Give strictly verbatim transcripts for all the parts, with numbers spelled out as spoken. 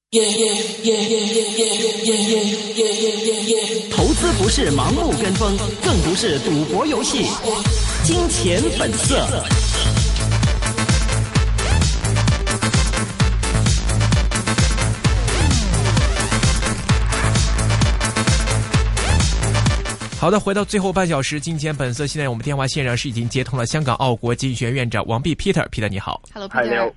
投資不是盲目跟風，更不是賭博遊戲。金錢本色。好的，回到最後半小時，金錢本色。現在我們電話線上是已經接通了香港奧國經濟學院院長王弼 Peter，Peter 你好。 Hello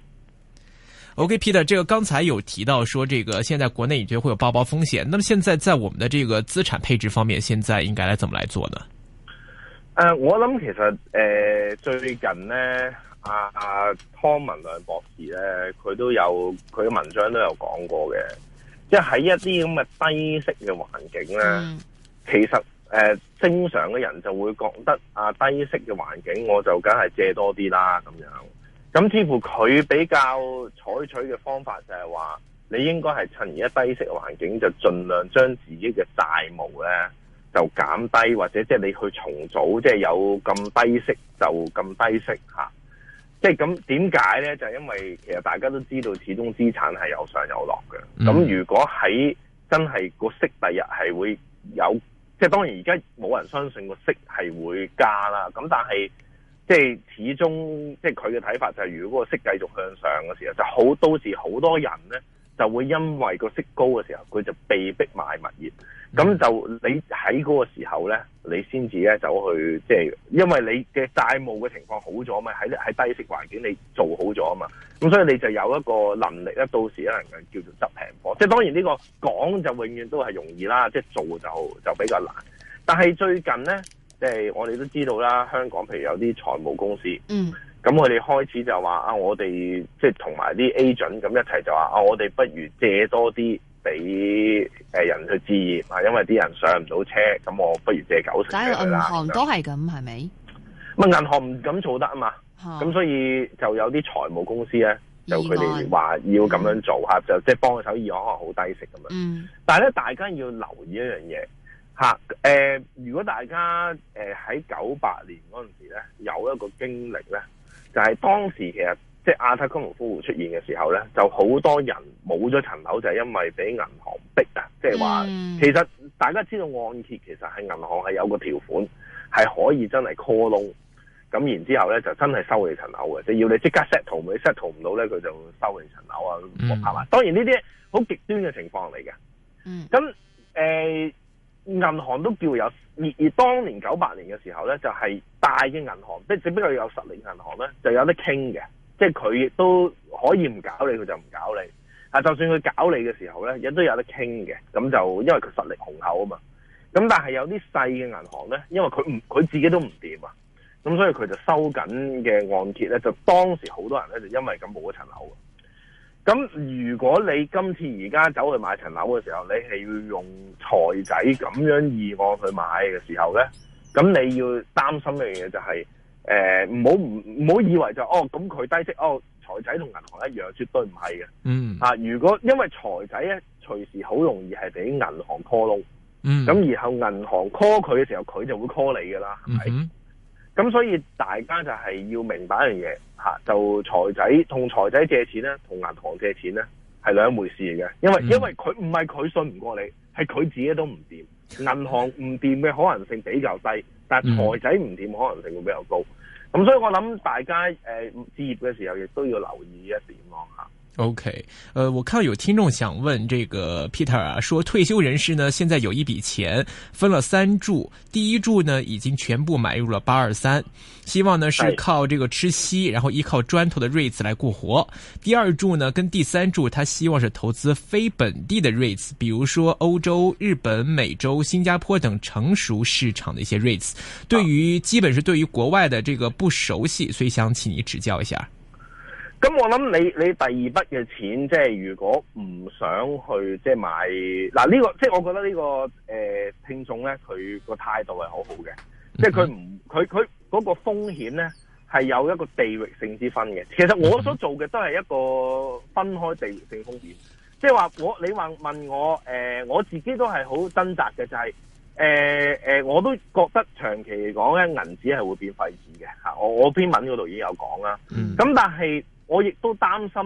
Peter。OK，Peter，、okay, 這個剛才有提到說，這個現在國內你覺得會有爆煲風險，那麼現在在我們的這個資產配置方面，現在應該來怎麼來做呢？ 誒、呃，我諗其實誒、呃、最近呢，阿阿湯文亮博士咧，佢都有佢嘅文章都有講過嘅，即係喺一啲咁嘅低息嘅環境咧，嗯、其實。誒、呃，正常嘅人就會覺得啊，低息嘅環境我就梗係借多啲啦咁樣。咁似乎佢比較採取嘅方法就係話，你應該係趁而家低息嘅環境，就盡量將自己嘅債務咧就減低，或者即係你去重組，即係有咁低息就咁低息吓。即係咁點解咧？就係、是、因為其實大家都知道，始終資產係有上有落嘅。咁、嗯、如果喺真係個息第日係會有。即係當然，而家冇人相信個息係會加啦。咁但係，即係始終，即係佢嘅睇法就係，如果個息繼續向上嘅時候，就好到時好多人咧就會因為個息高嘅時候，佢就被逼買物業。咁、嗯、就你喺嗰個時候咧，你先至咧走去，即係因為你嘅債務嘅情況好咗嘛，喺喺低息環境你做好咗啊嘛。咁所以你就有一個能力咧，到時咧能夠叫做執平貨。即係當然呢個講就永遠都係容易啦，即係做就就比較難。但係最近咧，即係我哋都知道啦，香港譬如有啲財務公司，嗯，咁佢哋開始就話啊，我哋即係同埋啲 agent 咁一齊就話啊，我哋不如借多啲俾誒人去置業啊，因為啲人上唔到車，咁我不如借九成俾佢啦。銀行都係咁，係咪？ 咁銀行唔敢做得啊嘛，咁、嗯、所以就有啲財務公司咧，就佢哋話要咁樣做吓、嗯，就即係幫佢手議案可能好低息咁樣。嗯，但係咧，大家要留意一樣嘢吓，誒、呃，如果大家誒喺九八年嗰陣時咧，有一個經歷咧，就係、是、當時其實即係亞太金融風暴出現嘅時候咧，就好多人冇咗層樓，就係因為俾銀行逼啊，即係話，其實大家知道按揭其實係銀行係有個條款係可以真係 call loan。咁然之後咧，就真係收你層樓嘅，即係要你即刻 settle，你 settle 唔到咧，佢就收你層樓啊，係嘛？當然呢啲好極端嘅情況嚟嘅。嗯。咁誒、呃，銀行都叫有，而而當年九八年嘅時候咧，就係、是、大嘅銀行，即係只不過有實力銀行咧，就有得傾嘅，即係佢亦都可以唔搞你，佢就唔搞你。啊，就算佢搞你嘅時候咧，亦都有得傾嘅。咁就因為佢實力雄厚啊嘛。咁但係有啲細嘅銀行咧，因為佢唔佢自己都唔掂啊。咁所以佢就收緊嘅按揭咧，就當時好多人咧就因為咁冇咗層樓。咁如果你今次而家走去買層樓嘅時候，你係要用財仔咁樣議案去買嘅時候咧，咁你要擔心一樣嘢就係、是，誒唔好唔唔好以為就哦咁佢低息，哦財仔同銀行一樣，絕對唔係嘅。嗯。啊，如果因為財仔咧隨時好容易係俾銀行 call loan。嗯。咁然後銀行 call 佢嘅時候，佢就會 call 你噶啦，係咪？嗯。咁所以大家就係要明白一樣嘢吓，就財仔同財仔借錢咧，同銀行借錢咧係兩回事嚟嘅，因為、嗯、因為佢唔係佢信唔過你，係佢自己都唔掂，銀行唔掂嘅可能性比較低，但係財仔唔掂可能性會比較高。咁、嗯、所以我諗大家誒、呃、置業嘅時候亦都要留意一點咯吓。 OK，呃，我看到有聽眾想問這個 Peter 啊，說退休人士呢，現在有一筆錢分了三注，第一注呢已經全部買入了八二三，希望呢是靠這個吃息，然後依靠磚頭的 REITs 來過活。第二注呢跟第三注，他希望是投資非本地的 REITs，比如說歐洲、日本、美洲、新加坡等成熟市場的一些 REITs。對於基本是對於國外的這個不熟悉，所以想請你指教一下。 咁我諗你你第二筆嘅錢，即係如果唔想去即係買嗱呢個，即係我覺得呢個誒聽眾咧，佢個態度係好好嘅，即係佢唔佢佢嗰個風險咧係有一個地域性之分嘅。其實我所做嘅都係一個分開地域性風險，即係話我你話問我誒，我自己都係好掙扎嘅，就係誒誒，我都覺得長期嚟講咧，銀紙係會變廢紙嘅吓。我我篇文嗰度已經有講啦，咁但係。我亦都擔心咧，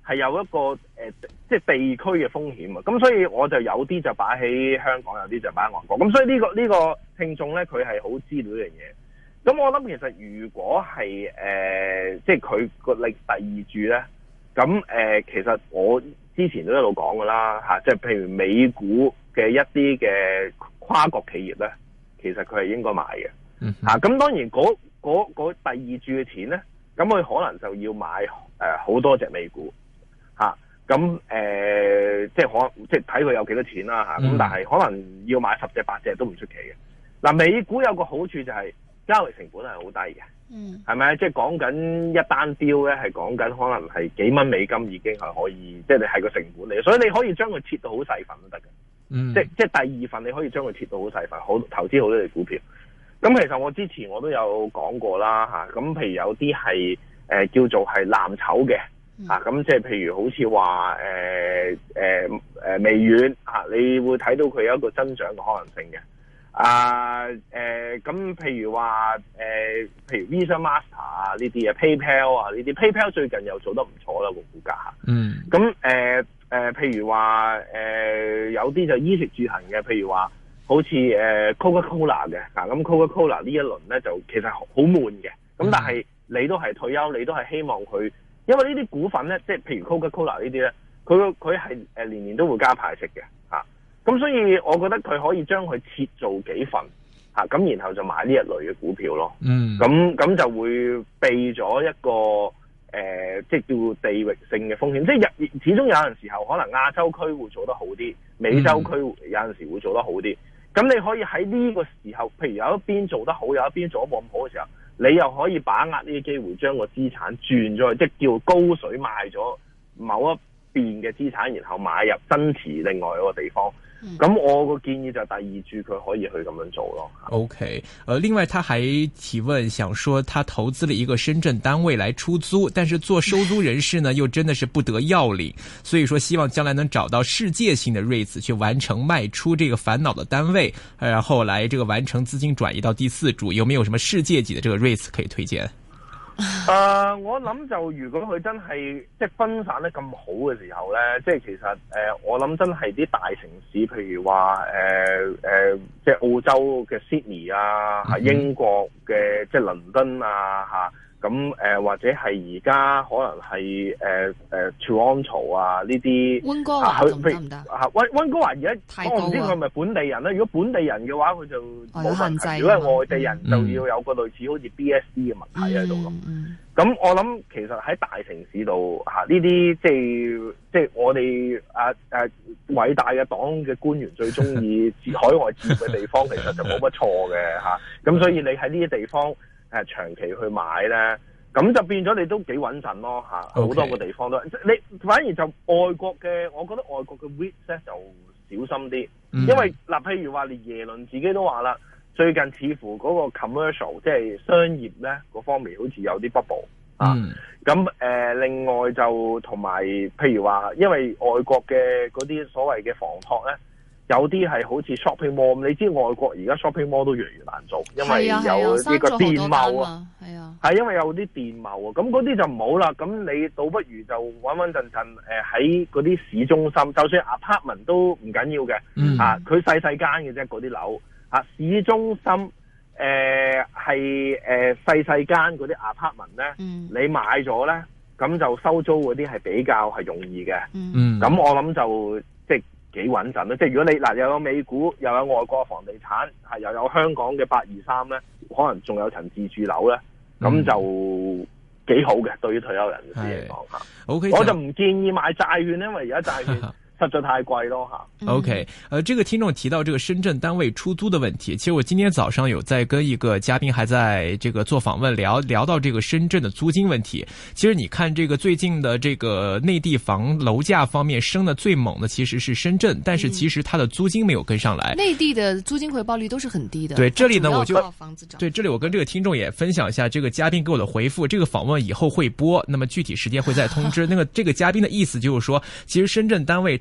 係有一個誒、呃，即係地區嘅風險啊。咁所以我就有啲就擺喺香港，有啲就擺喺外國。咁所以呢、呢個呢、呢個聽眾咧，佢係好知道呢樣嘢。咁我諗其實如果係誒、呃，即係佢個力第二注咧，咁誒、呃，其實我之前都一路講噶啦吓，即係譬如美股嘅一啲嘅跨國企業咧，其實佢係應該買嘅。嗯吓，咁、啊、當然嗰嗰嗰第二注嘅錢咧，咁佢可能就要買誒好、呃、多隻美股吓，咁、啊、誒、呃、即係可即係睇佢有幾多錢啦吓，咁、啊、但係可能要買十隻八隻都唔出奇嘅。嗱、啊，美股有個好處就係、是。交易成本係好低嘅，嗯，係咪？即係講緊一單標咧，係講緊可能係幾蚊美金已經係可以，即係你係個成本嚟，所以你可以將佢切到好細份都得嘅，嗯，即係即係第二份你可以將佢切到好細份，好投資好多隻股票。咁其實我之前我都有講過啦，嚇，咁譬如有啲係誒叫做係藍籌嘅，嚇、嗯，咁即係譬如好似話誒誒誒微軟嚇，你會睇到佢有一個增長嘅可能性嘅。啊，誒、呃，咁譬如話，誒、呃，譬如 Visa、Master 啊呢啲啊 ，PayPal 啊呢啲 ，PayPal 最近又做得唔錯啦個股價吓。嗯。咁誒誒，譬如話，誒、呃，有啲就衣食住行嘅，譬如話，好似誒 Coca-Cola 嘅，啊，咁 Coca-Cola 呢一輪咧就其實好悶嘅，咁但係你都係退休，你都係希望佢，因為呢啲股份咧，即係譬如 Coca-Cola 呢啲咧，佢佢係誒年年都會加派息嘅，吓。咁所以，我覺得佢可以將佢切做幾份嚇，咁、啊、然後就買呢一類嘅股票咯。嗯，咁咁就會避咗一個誒、呃，即係叫地域性嘅風險。即係始終有陣時候，可能亞洲區會做得好啲，美洲區有陣時會做得好啲。咁你可以喺呢個時候，譬如有一邊做得好，有一邊做得冇咁好嘅時候，你又可以把握呢啲機會，將個資產轉咗去，即係叫高水賣咗某一邊嘅資產，然後買入增持另外一個地方。咁、嗯、我個建議就第二注佢可以去咁樣做咯。 OK，呃，另外他還提問，想說他投資了一個深圳單位來出租，但是做收租人士呢，又真的是不得要領，所以說希望將來能找到世界性的 REITs 去完成賣出這個煩惱的單位，然後來這個完成資金轉移到第四注，有沒有什麼世界級的這個 REITs 可以推薦？ 誒、呃，我諗就如果佢真係即係分散得咁好嘅時候咧，即係其實誒、呃，我諗真係啲大城市，譬如話誒誒，即係澳洲嘅 Sydney 啊，吓、嗯、英國嘅即係倫敦啊，吓咁誒，或者係而家可能係誒誒 Toronto 啊呢啲。溫哥華得唔得？吓溫溫哥華而家我唔知佢係咪本地人咧。如果本地人嘅話，佢就冇問題。如果係外地人，就要有個類似好似 B S D 嘅問題喺度咁。咁、嗯、我諗其實喺大城市度吓呢啲即係即係我哋啊誒偉大嘅黨嘅官員最中意海外置業嘅地方，其實就冇乜錯嘅吓。咁、啊、所以你喺呢啲地方。誒，長期去買咧，咁就變咗你都幾穩陣咯吓，好、okay. 多個地方都，你反而就外國嘅，我覺得外國嘅 REIT 咧就小心啲、嗯，因為嗱，譬如話連耶倫自己都話啦，最近似乎嗰個 commercial 即係商業咧嗰方面好似有啲 bubble、嗯、啊，咁誒、呃，另外就同埋譬如話，因為外國嘅嗰啲所謂嘅房託咧。有啲係好似 shopping mall，你知外國而家 shopping mall 都越嚟越難做，因為有呢個電貿啊，係啊，係因為有啲電貿啊，咁嗰啲就唔好啦。咁你倒不如就穩穩陣陣誒喺嗰啲市中心，就算 apartment 都唔緊要嘅、嗯，啊，佢細細間嘅啫，嗰啲樓啊，市中心誒係誒細細間嗰啲 apartment 咧、嗯，你買咗咧，咁就收租嗰啲係比較係容易嘅，嗯，咁我諗就即係。幾穩陣咧，即係如果你嗱又有美股，又有外國房地產，係又有香港嘅八二三咧，可能仲有層自住樓咧，咁、嗯、就幾好嘅，對於退休人士嚟講吓。O K， 我就唔建議買債券，因為而家債券實在太貴咯吓。 O K， 呃，這個聽眾提到這個深圳單位出租的問題，其實我今天早上有在跟一個嘉賓還在這個做訪問聊聊到這個深圳的租金問題。其實你看這個最近的這個內地房樓價方面升得最猛的其實是深圳，但是其實它的租金沒有跟上來。 內地的租金回報率都是很低的。 對，這裏呢我就對這裏我跟這個聽眾也分享一下這個嘉賓給我的回復。這個訪問以後會播，那麼具體時間會再通知。那個這個嘉賓的意思就是說，其實深圳單位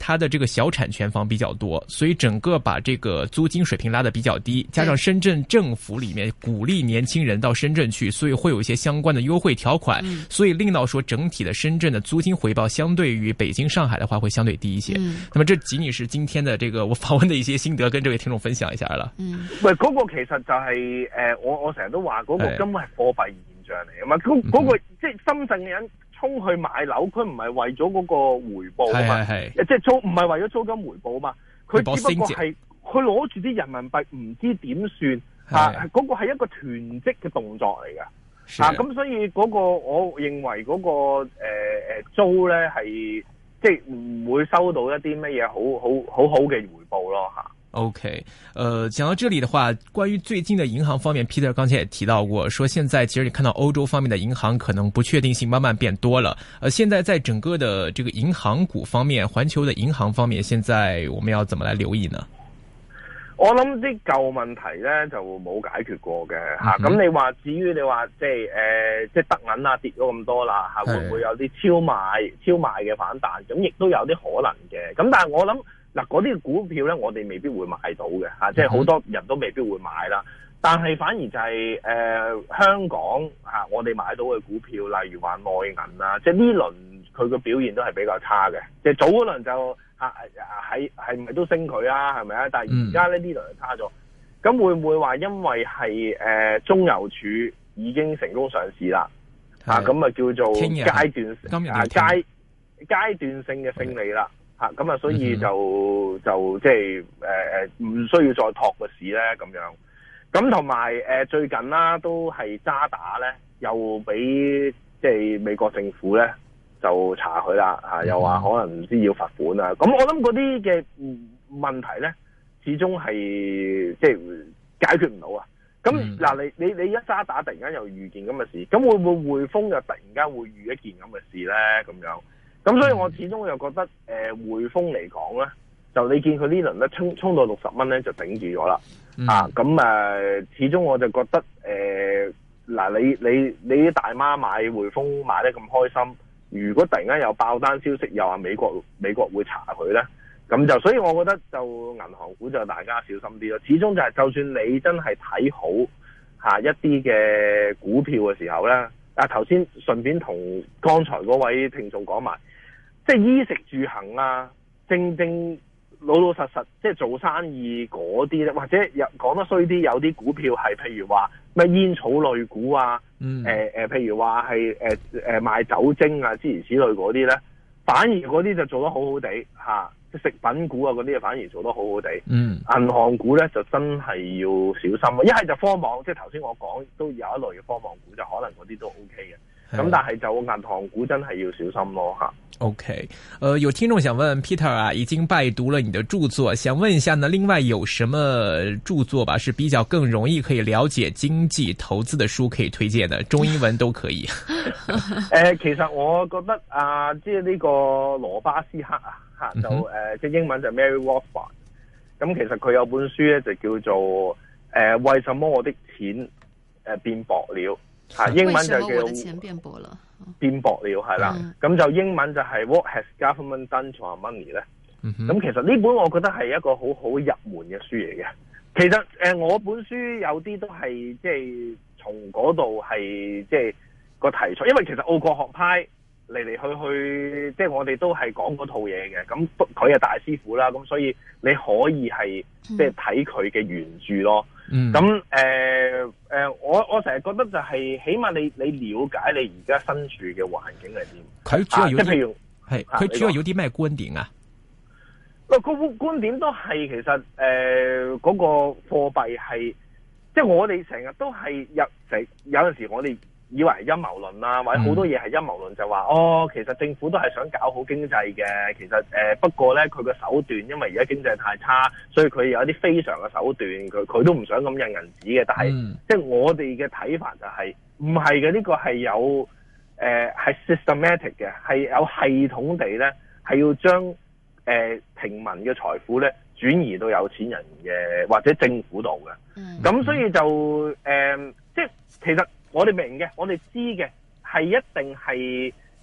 它的這個小產權房比較多，所以整個把這個租金水平拉得比較低，加上深圳政府裏面鼓勵年輕人到深圳去，所以會有一些相關的優惠條款，嗯、所以令到說整體的深圳的租金回報相對於北京、上海的話會相對低一些。嗯、那麼這僅僅是今天的這個我訪問的一些心得，跟這位聽眾分享一下啦。嗯，喂， 嗰個其實就係、是、誒、呃，我我成日都話嗰個根本係貨幣現象嚟啊嘛，嗰嗰、那個、嗯、即係深圳嘅人衝去買樓，佢唔係為咗嗰個回報啊嘛，即係租唔係為咗租金回報啊嘛，佢只不過係佢攞住啲人民幣唔知點算吓，嗰、那個係一個囤積嘅動作嚟噶。啊，咁所以嗰個我認為嗰、那個誒誒、呃、租咧係即係唔會收到一啲乜嘢好好好好嘅回報咯吓。 OK，呃，講到這裡的話，關於最近的銀行方面 ，Peter 剛才也提到過，說現在其實你看到歐洲方面的銀行可能不確定性慢慢變多了。呃，現在在整個的這個銀行股方面，環球的銀行方面，現在我們要怎麼來留意呢？ 我諗啲舊問題咧就冇解決過嘅吓，咁、嗯、你話至於你話即係誒即係德銀啊跌咗咁多啦吓，會唔會有啲超賣超賣嘅反彈？咁亦都有啲可能嘅，咁但係我諗嗱嗰啲股票咧，我哋未必會買到嘅吓，即係好多人都未必會買啦。但係反而就係、是、誒、呃、香港吓、啊，我哋買到嘅股票，例如話內銀啊，即係呢輪佢個表現都係比較差嘅，即係早嗰輪就。啊，係係咪都升佢啊？係咪啊？但係而家咧呢輪就差咗，咁、嗯、會唔會話因為係誒、呃、中郵儲已經成功上市啦？啊，咁啊叫做階段啊階階段性嘅勝利啦。吓，咁啊所以就、嗯、就即係誒誒唔需要再托個市咧咁樣。咁同埋誒最近啦都係渣打咧又俾即係美國政府咧。就查佢啦，吓又話可能唔知要罰款啊！咁我諗嗰啲嘅問題咧，始終係即係解決唔到啊！咁嗱、嗯，你你你一渣打突然間又遇件咁嘅事，咁會唔會匯豐又突然間會遇一件咁嘅事咧？咁樣，咁所以我始終又覺得誒、呃、匯豐嚟講咧，就你見佢呢輪咧衝衝到六十蚊咧就頂住咗啦，嗯、啊咁誒、呃，始終我就覺得誒嗱、呃，你你你啲大媽買匯豐買得咁開心。如果突然間有爆單消息，又話美國美國會查佢咧，咁就所以我覺得就銀行股就大家小心啲咯。始終就係就算你真係睇好吓一啲嘅股票嘅時候咧，啊頭先順便同剛才嗰位聽眾講埋，即係衣食住行啊，正正老老實實即係做生意嗰啲咧，或者有講得衰啲，有啲股票係譬如話咩煙草類股啊。嗯，誒誒、呃，譬如話係誒誒賣酒精啊，諸如此類嗰啲咧，反而嗰啲就做得好好地吓，即、啊、食品股啊嗰啲反而做得好好地。嗯，銀行股咧就真係要小心啊！一係就科網，即係頭先我講都有一類嘅科網股，就可能嗰啲都 O K 嘅。咁但係就銀行股真係要小心咯吓。OK， 呃，有聽眾想問 Peter 啊，已經拜讀了你的著作，想問一下呢，另外有什麼著作吧，是比較更容易可以了解經濟投資的書可以推薦的，中英文都可以。 誒、呃，其實我覺得啊，即係呢個羅巴斯克啊，吓就誒，即係、呃嗯、英文就 Mary Rothbard，咁其實佢有本書咧就叫做誒、呃，為什麼我的錢誒變薄了？吓，英文就叫為什麼我的錢變薄了？變薄了係啦，咁、嗯、就英文就係 What has government done to our money 咧？咁、嗯、哼其實呢本我覺得係一個好好入門嘅書嚟嘅。其實誒、呃，我本書有啲都係即係從嗰度係即係個題材，因為其實奧國學派嚟嚟去去，即係我哋都係講嗰套嘢嘅。咁佢係大師傅啦，咁所以你可以係即係睇佢嘅原著咯。咁誒誒，我我成日覺得就係、是，起碼你你了解你而家身處嘅環境係點。 佢主要有啲， 即係譬如係佢主要有啲咩觀點啊？ 個個觀點都係其實誒嗰、呃那個貨幣係，即係我哋成日都係有成有陣時我哋以為係陰謀論啦，或者好多嘢係陰謀論，就話哦，其實政府都係想搞好經濟嘅。其實誒、呃，不過咧佢個手段，因為而家經濟太差，所以佢有一啲非常嘅手段，佢佢都唔想咁印銀紙嘅。但係、嗯、即係我哋嘅睇法就係唔係嘅，呢、這個係有誒係、呃、systematic 嘅，係有系統地咧係要將誒、呃、平民嘅財富咧轉移到有錢人嘅或者政府度嘅。咁、嗯、所以就誒、呃，即係其實。我哋明嘅，我哋知嘅，係一定係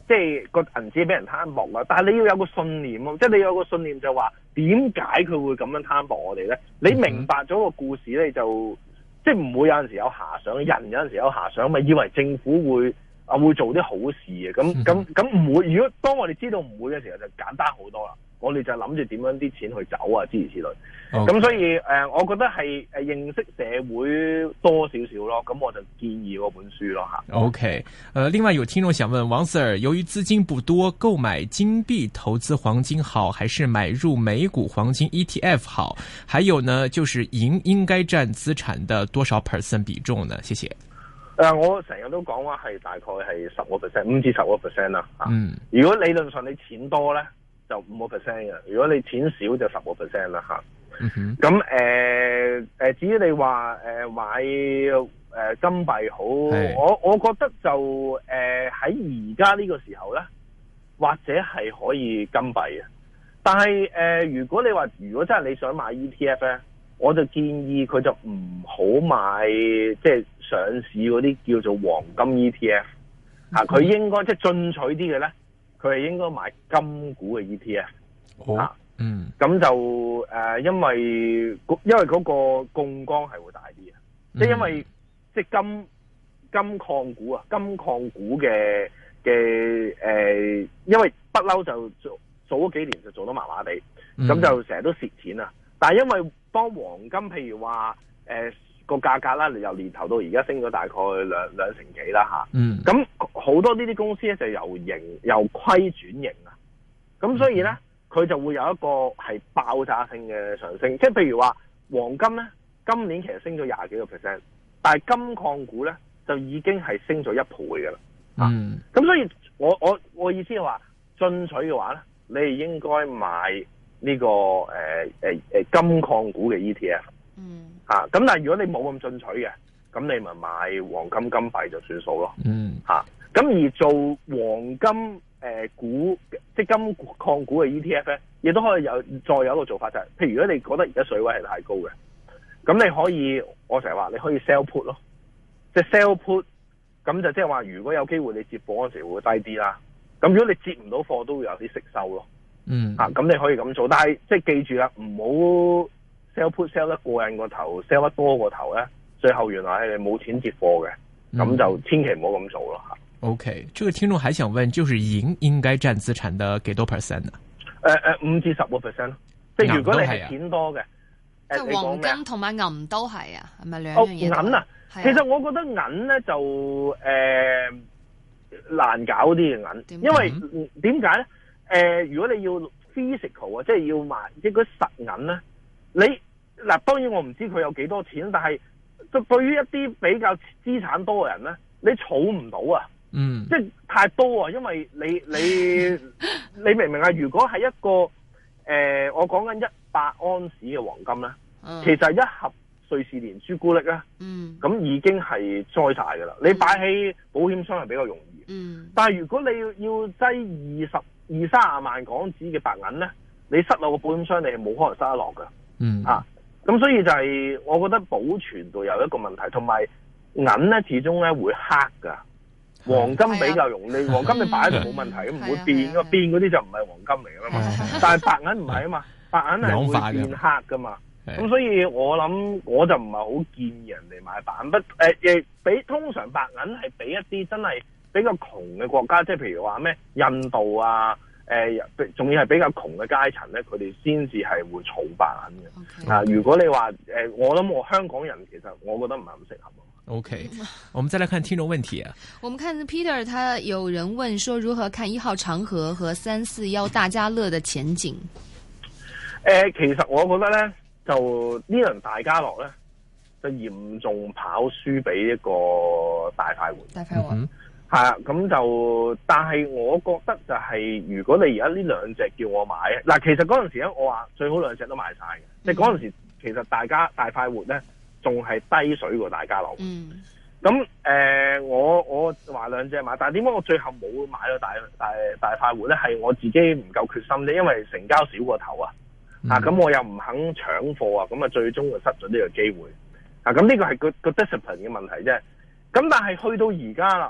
即係個銀紙俾人攤薄啦。但係你要有個信念咯，即係你有個信念就話點解佢會咁樣攤薄我哋咧？你明白咗個故事咧，就即係唔會有陣時有遐想，人有陣時有遐想，咪以為政府會啊會做啲好事嘅。咁咁咁唔會。如果當我哋知道唔會嘅時候，就簡單好多啦。我哋就諗住點樣啲錢去走啊，諸如此類。咁、okay. 所以誒、呃，我覺得係誒認識社會多少少咯。咁我就建議嗰本書咯吓。 OK，誒、呃，另外有聽眾想問王 Sir， 由於資金不多，購買金幣投資黃金好，還是買入美股黃金 E T F 好？還有呢，就是銀應該佔資產的多少 percent 比重呢？謝謝。誒、 呃，我成日都講話係大概係十個 percent， 五至十個 percent 啦。嗯，如果理論上你錢多咧，就五個 percent 嘅；如果你錢少就十個 percent 啦吓。咁誒誒，至於你話誒、呃、買誒、呃、金幣好，我我覺得就誒喺而家呢個時候咧，或者係可以金幣嘅。但係誒、呃，如果你話如果真係你想買 E T F 咧，我就建議佢就唔好買即係上市嗰啲叫做黃金 E T F 啊。佢應該即係進取啲嘅咧，佢係應該買金股嘅 E T F、哦、啊。嗯，咁就誒、呃，因為因為嗰個槓桿係會大啲嘅、嗯，即係因為即係金金礦股啊，金礦股嘅嘅誒，因為不嬲就做做咗幾年就做得麻麻地，咁、嗯、就成日都蝕錢啊。但係因為當黃金譬如話誒個價格啦，由年頭到而家升咗大概兩兩成幾啦吓，嗯，咁好多呢啲公司咧就由盈由虧轉盈啊，咁所以咧。嗯佢就會有一個係爆炸性嘅上升，即係譬如話黃金咧，今年其實升咗廿幾個 percent， 但係金礦股咧就已經係升咗一倍㗎啦。嗯，咁、啊、所以我我我意思係話進取嘅話咧，你係應該買呢、這個誒誒誒金礦股嘅 E T F。嗯，嚇、啊，咁但係如果你冇咁進取嘅，咁你咪買黃金金幣就算數咯。嗯，嚇、啊，咁而做黃金。誒、呃，股即係金礦股嘅 E T F 咧，亦都可以有再有一個做法就係、是，譬如如果你覺得而家水位係太高嘅，咁你可以，我成日話你可以 sell put 咯，即係 sell put，咁就即係話如果有機會你接貨嗰時會低啲啦，咁如果你接唔到貨都會有啲息收咯，嗯，啊，咁你可以咁做，但係即係記住啦，唔好 sell put sell 得過癮個頭 ，sell 得多個頭咧，最後原來係你冇錢接貨嘅，咁、嗯、就千祈唔好咁做咯吓。 OK， 這個聽眾還想問，就是銀應該佔資產的幾多 percent 呢？ 誒誒，五至十個 percent， 即係如果你係錢多嘅， 即係黃金同埋銀都係啊，係咪兩樣嘢？ 銀啊，其實我覺得銀咧就誒、呃、難搞啲嘅銀，因為點解咧？誒、呃，如果你要 physical 啊，即係要買即係嗰實銀咧，你嗱當然我唔知佢有幾多錢，但係對對於一啲比較資產多嘅人咧，你儲唔到啊。嗯，即係太多啊，因為你你你明唔明啊？如果係一個誒、呃，我講緊一百安士嘅黃金咧、嗯，其實一盒瑞士蓮朱古力咧，咁、嗯、已經係栽晒噶啦。你擺喺保險箱係比較容易，嗯、但係如果你要要擠二十二三十萬港紙嘅白銀咧，你塞落個保險箱，你係冇可能塞得落噶。嗯啊，咁所以就係我覺得保存度有一個問題，同埋銀咧始終咧會黑噶。黃金比較容易，黃金你擺喺度冇問題，唔、嗯、會變噶，變嗰啲就唔係黃金嚟噶嘛。但係白銀唔係啊嘛，白銀係會變黑噶嘛。咁所以我諗我就唔係好建議人哋買白銀，不誒誒，俾通常白銀係俾一啲真係比較窮嘅國家，即係譬如話咩印度啊，誒、呃，仲要係比較窮嘅階層咧，佢哋先至係會儲白銀嘅。啊、okay. 呃，如果你話誒、呃，我諗我香港人其實我覺得唔係咁適合。 OK， 我們再來看聽眾問題啊。 我們看 Peter， 他有人問說，如何看一號長和和三四一大家樂的前景？ 誒、呃，其實我覺得咧，就呢輪大家樂咧，就嚴重跑輸俾一個大快活。 大快活係啊，咁就，但係我覺得就係、是，如果你而家呢兩隻叫我買，嗱，其實嗰陣時咧，我話最好兩隻都買晒嘅，即係嗰陣時其實大家大快活咧。仲係低水過大家樂，咁、嗯、誒、呃，我我話兩隻買，但係點解我最後冇買到大大大快活咧？係我自己唔夠決心啫，因為成交少過頭啊，嗯、啊，咁我又唔肯搶貨啊，咁啊，最終就失咗呢個機會，啊，咁呢個係個個 discipline 嘅問題啫。咁但係去到而家啦，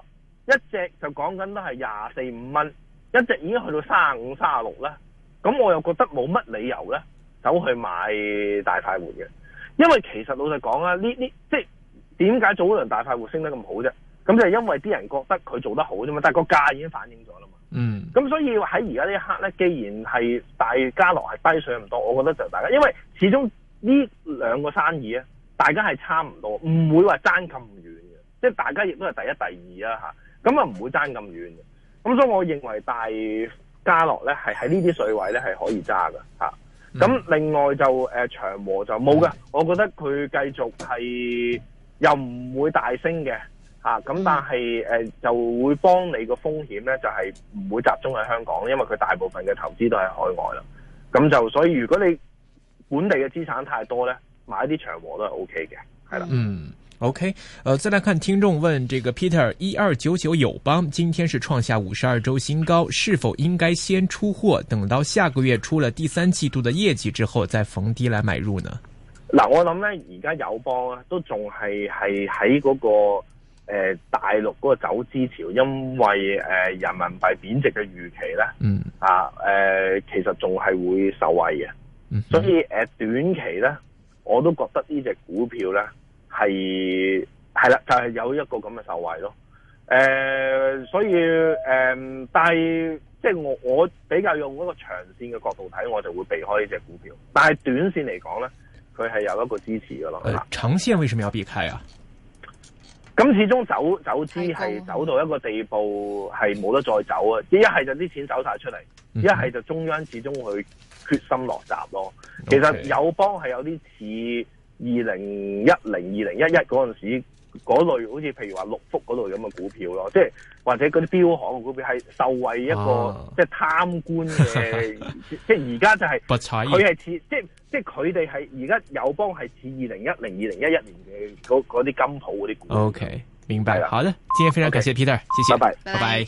一隻就講緊都係廿四五蚊，一隻已經去到三十五、三十六啦。咁我又覺得冇乜理由咧，走去買大快活嘅，因為其實老實講啊，呢呢即係點解早輪大快活升得咁好啫？咁就係因為啲人覺得佢做得好啫嘛，但係個價已經反映咗啦嘛。嗯。咁所以喺而家呢一刻咧，既然係大家樂係低水咁多，我覺得就大家，因為始終呢兩個生意啊，大家係差唔多，唔會話爭咁遠嘅，即係大家亦都係第一、第二啊嚇，咁啊唔會爭咁遠嘅。咁所以我認為大家樂咧係喺呢啲水位咧係可以揸嘅嚇。咁、嗯、另外就誒、呃、長和就冇嘅，我覺得佢繼續係又唔會大升嘅。啊，咁但係誒、呃、就會幫你個風險咧，就係、是、唔會集中喺香港，因為佢大部分嘅投資都係海外啦。咁就所以如果你本地嘅資產太多咧，買啲長和都係 O K 嘅，係啦。嗯 ，OK，呃，再來看聽眾問，這個 Peter 一二九九友邦今天是創下五十二周新高，是否應該先出貨，等到下個月出了第三季度的業績之後再逢低來買入呢？ 嗱，我諗咧而家友邦啊都仲係係喺嗰個。誒、呃，大陸嗰個走資潮，因為誒、呃、人民幣貶值嘅預期咧，嗯啊，誒、呃、其實仲係會受惠嘅，嗯，所以誒、呃、短期咧，我都覺得呢隻股票咧係係啦，就係、是、有一個咁嘅受惠咯。誒、呃，所以誒、呃，但係即係我我比較用嗰個長線嘅角度睇，我就會避開呢隻股票。但係短線嚟講咧，佢係有一個支持噶咯。 誒、呃，長線為什麼要避開啊？ 咁始終走走資係走到一個地步係冇得再走啊！一係就啲錢走晒出嚟，一係就中央始終會決心落閘咯。Okay. 其實友邦係有啲似二零一零、二零一一嗰陣時嗰類，好似譬如話六福嗰類咁嘅股票咯，即係或者嗰啲標行嘅股票係受惠一個、啊、即係貪官嘅，即係而家就係佢係似即係。即係佢哋係而家友邦係似二零一零、二零一一年嘅嗰嗰啲金鋪嗰啲股。 OK，明白啦。好的，今天非常感謝 Peter，、okay. 謝謝， 拜拜， 拜拜。